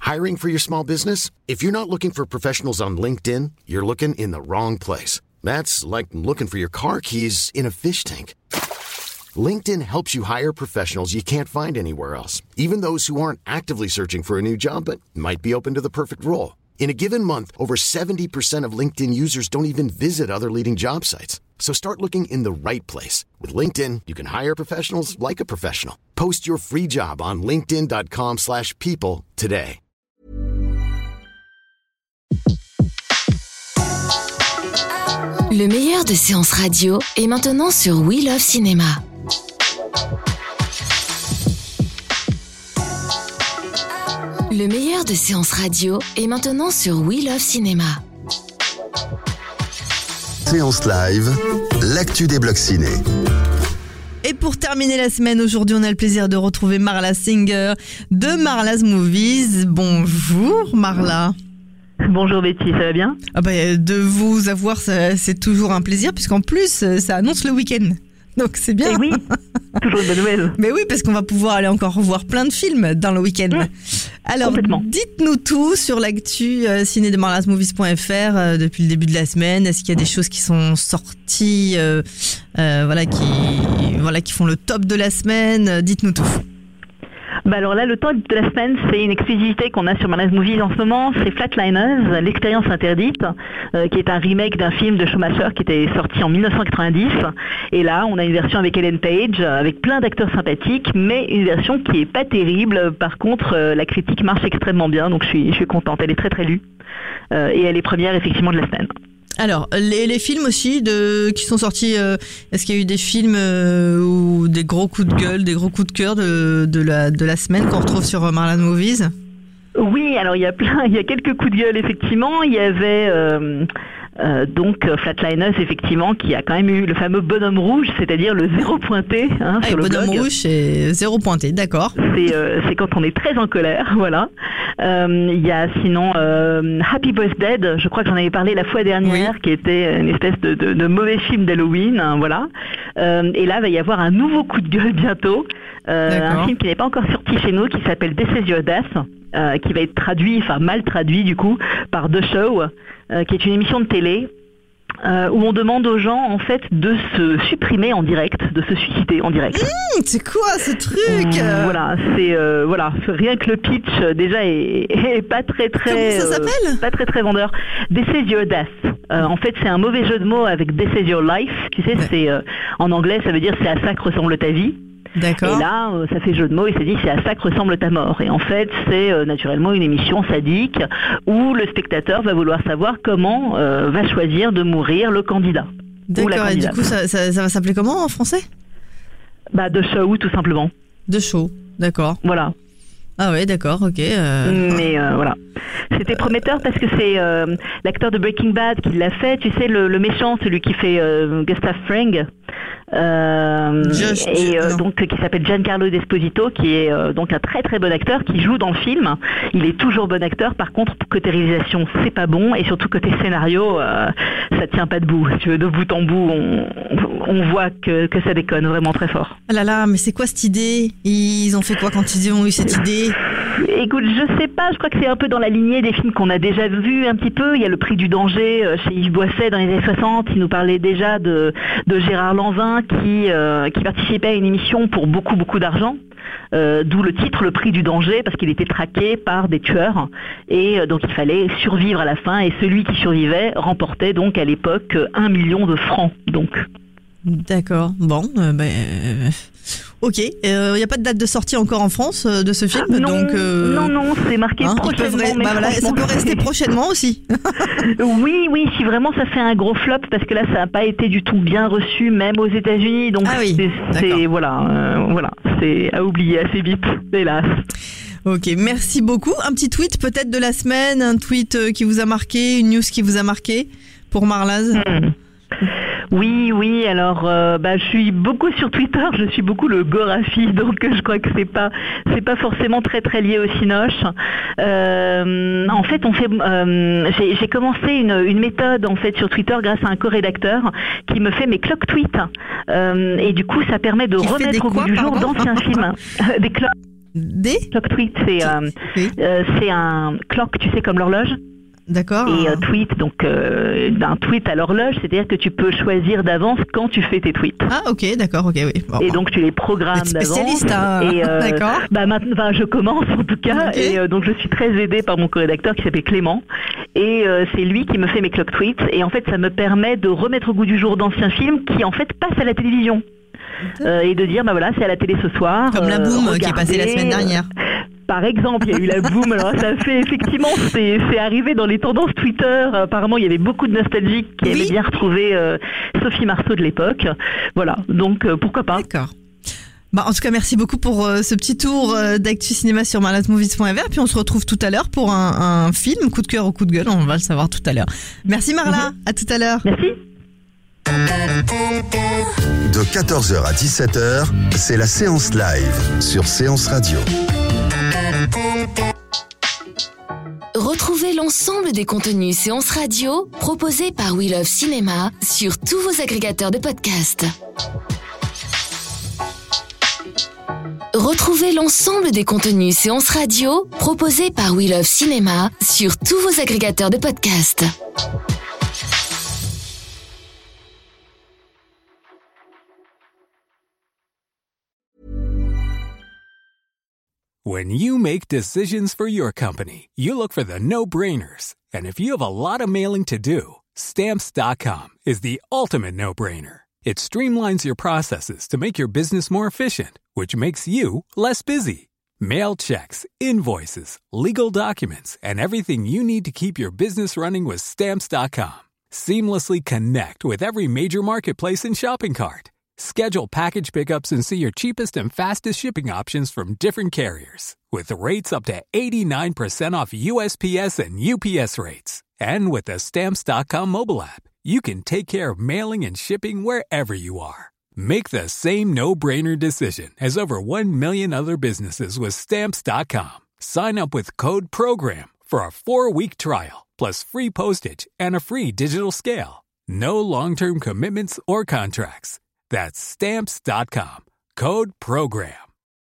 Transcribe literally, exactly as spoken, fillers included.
Hiring for your small business? If you're not looking for professionals on LinkedIn, you're looking in the wrong place. That's like looking for your car keys in a fish tank. LinkedIn helps you hire professionals you can't find anywhere else, even those who aren't actively searching for a new job but might be open to the perfect role. In a given month, over seventy percent of LinkedIn users don't even visit other leading job sites. So start looking in the right place. With LinkedIn, you can hire professionals like a professional. Post your free job on linkedin.com slash people today. Le meilleur de séances radio est maintenant sur We Love Cinéma. Le meilleur de séances radio est maintenant sur We Love Cinéma. Séance live, l'actu des blogs ciné. Et pour terminer la semaine, aujourd'hui, on a le plaisir de retrouver Marla Singer de Marla's Movies. Bonjour Marla. Bonjour Betty, ça va bien ? Ah bah, de vous avoir, ça, c'est toujours un plaisir, puisqu'en plus, ça annonce le week-end. Donc c'est bien. Et oui, toujours une bonne nouvelle. Mais oui, parce qu'on va pouvoir aller encore voir plein de films dans le week-end. Mmh, Alors, dites-nous tout sur l'actu euh, ciné de marlas movies point f r euh, depuis le début de la semaine. Est-ce qu'il y a des choses qui sont sorties, euh, euh, voilà, qui, voilà, qui font le top de la semaine ? Dites-nous tout. Bah alors là, le top de la semaine, c'est une exclusivité qu'on a sur Marla's Movies en ce moment, c'est Flatliners, l'expérience interdite, euh, qui est un remake d'un film de Schumacher qui était sorti en dix-neuf cent quatre-vingt-dix. Et là, on a une version avec Ellen Page, avec plein d'acteurs sympathiques, mais une version qui est pas terrible. Par contre, euh, la critique marche extrêmement bien, donc je suis, je suis contente. Elle est très très lue. Euh, et elle est première effectivement de la semaine. Alors, les, les films aussi de, qui sont sortis, euh, est-ce qu'il y a eu des films euh, ou des gros coups de gueule, des gros coups de cœur de, de, la, de la semaine qu'on retrouve sur Marla's Movies ? Oui, alors il y a plein, il y a quelques coups de gueule effectivement. Il y avait euh, euh, donc Flatliners effectivement qui a quand même eu le fameux bonhomme rouge, c'est-à-dire le zéro pointé hein, ah, sur le le bonhomme blog. rouge c'est zéro pointé, d'accord. C'est euh, c'est quand on est très en colère, voilà. Euh, il y a sinon euh, Happy Birthday, je crois que j'en avais parlé la fois dernière, oui. Qui était une espèce de, de, de mauvais film d'Halloween, hein, voilà. Euh, et là, il va y avoir un nouveau coup de gueule bientôt, euh, un film qui n'est pas encore sorti chez nous, qui s'appelle This Is Your Death, euh, qui va être traduit, enfin mal traduit du coup, par The Show, euh, qui est une émission de télé. Euh, où on demande aux gens en fait de se supprimer en direct, de se suicider en direct. Mmh, c'est quoi ce truc euh, Voilà, c'est euh, voilà, rien que le pitch euh, déjà est, est pas très très. Comment ça s'appelle euh, Pas très très vendeur. This is your death. Euh, en fait, c'est un mauvais jeu de mots avec This is your life. Tu sais, ouais. c'est euh, en anglais, ça veut dire c'est à ça que ressemble ta vie. D'accord. Et là, euh, ça fait jeu de mots et c'est dit c'est à ça que ressemble ta mort. Et en fait, c'est euh, naturellement une émission sadique où le spectateur va vouloir savoir comment euh, va choisir de mourir le candidat. D'accord, et du coup, ça, ça, ça va s'appeler comment en français ? Bah, The Show, tout simplement. The Show, d'accord. Voilà. Ah ouais, d'accord, ok. Euh... Mais euh, voilà. C'était prometteur parce que c'est euh, l'acteur de Breaking Bad qui l'a fait, tu sais, le, le méchant, celui qui fait euh, Gustav Fring. Euh, je, et je, euh, donc qui s'appelle Giancarlo Esposito, qui est euh, donc un très très bon acteur qui joue dans le film. Il est toujours bon acteur. Par contre, côté réalisation, c'est pas bon, et surtout côté scénario, euh, ça tient pas debout. Si tu veux, de bout en bout, on, on voit que, que ça déconne vraiment très fort. Ah là là, mais c'est quoi cette idée ? Ils ont fait quoi quand ils ont eu cette idée ? Écoute, je sais pas. Je crois que c'est un peu dans la lignée des films qu'on a déjà vus un petit peu. Il y a Le Prix du danger euh, chez Yves Boisset dans les années soixante. Il nous parlait déjà de, de Gérard Lanvin qui, euh, qui participait à une émission pour beaucoup beaucoup d'argent, euh, d'où le titre Le Prix du danger, parce qu'il était traqué par des tueurs et euh, donc il fallait survivre à la fin, et celui qui survivait remportait donc à l'époque un million de francs. Donc. D'accord, bon, euh, ben, euh, ok, il euh, n'y a pas de date de sortie encore en France euh, de ce film, non, donc euh, non, non, c'est marqué hein, prochainement. Re- bah voilà, ça peut rester prochainement aussi. oui, oui, si vraiment ça fait un gros flop, parce que là ça n'a pas été du tout bien reçu, même aux États-Unis, donc ah oui, c'est, c'est voilà, euh, voilà, c'est à oublier assez vite, hélas. Ok, merci beaucoup. Un petit tweet peut-être de la semaine, un tweet qui vous a marqué, une news qui vous a marqué pour Marla's. Hmm. Oui, oui. Alors, euh, bah, je suis beaucoup sur Twitter. Je suis beaucoup le Gorafi, donc je crois que c'est pas, c'est pas forcément très très lié au Cinoche. Euh, en fait, on fait, euh, j'ai, j'ai commencé une, une méthode en fait sur Twitter grâce à un co-rédacteur qui me fait mes clock tweets. Euh, et du coup, ça permet de qui remettre au goût du jour d'anciens films, des clock. Des Clock tweet, c'est, euh, oui. euh, c'est un clock, tu sais, comme l'horloge. D'accord. Et euh, tweet, donc euh, d'un tweet à l'horloge, c'est-à-dire que tu peux choisir d'avance quand tu fais tes tweets. Ah ok, d'accord, ok, oui. Bon, et donc tu les programmes d'avance. Spécialiste, hein. Et euh, d'accord. Bah maintenant, enfin, je commence en tout cas, okay. Et euh, donc je suis très aidée par mon co-rédacteur qui s'appelle Clément, et euh, c'est lui qui me fait mes clock tweets, et en fait ça me permet de remettre au goût du jour d'anciens films qui en fait passent à la télévision. Euh, et de dire bah voilà, c'est à la télé ce soir. Comme euh, La Boum qui est passée la semaine dernière. Par exemple, il y a eu La Boum, alors ça fait effectivement, c'est, c'est arrivé dans les tendances Twitter. Apparemment, il y avait beaucoup de nostalgiques qui oui. aimaient bien retrouver euh, Sophie Marceau de l'époque. Voilà, donc euh, pourquoi pas. D'accord. Bah, en tout cas, merci beaucoup pour euh, ce petit tour euh, d'actu cinéma sur marlatte movies point f r. Puis on se retrouve tout à l'heure pour un, un film, coup de cœur ou coup de gueule, on va le savoir tout à l'heure. Merci Marla, mm-hmm. à tout à l'heure. Merci. De quatorze heures à dix-sept heures, c'est la séance live sur Séance Radio. Retrouvez l'ensemble des contenus Séance Radio proposés par We Love Cinéma sur tous vos agrégateurs de podcasts. Retrouvez l'ensemble des contenus Séance Radio proposés par We Love Cinéma sur tous vos agrégateurs de podcasts. When you make decisions for your company, you look for the no-brainers. And if you have a lot of mailing to do, Stamps dot com is the ultimate no-brainer. It streamlines your processes to make your business more efficient, which makes you less busy. Mail checks, invoices, legal documents, and everything you need to keep your business running with Stamps dot com. Seamlessly connect with every major marketplace and shopping cart. Schedule package pickups and see your cheapest and fastest shipping options from different carriers. With rates up to eighty-nine percent off U S P S and U P S rates. And with the Stamps dot com mobile app, you can take care of mailing and shipping wherever you are. Make the same no-brainer decision as over one million other businesses with Stamps dot com. Sign up with code PROGRAM for a four-week trial, plus free postage and a free digital scale. No long-term commitments or contracts. That's Stamps dot com. Code PROGRAM.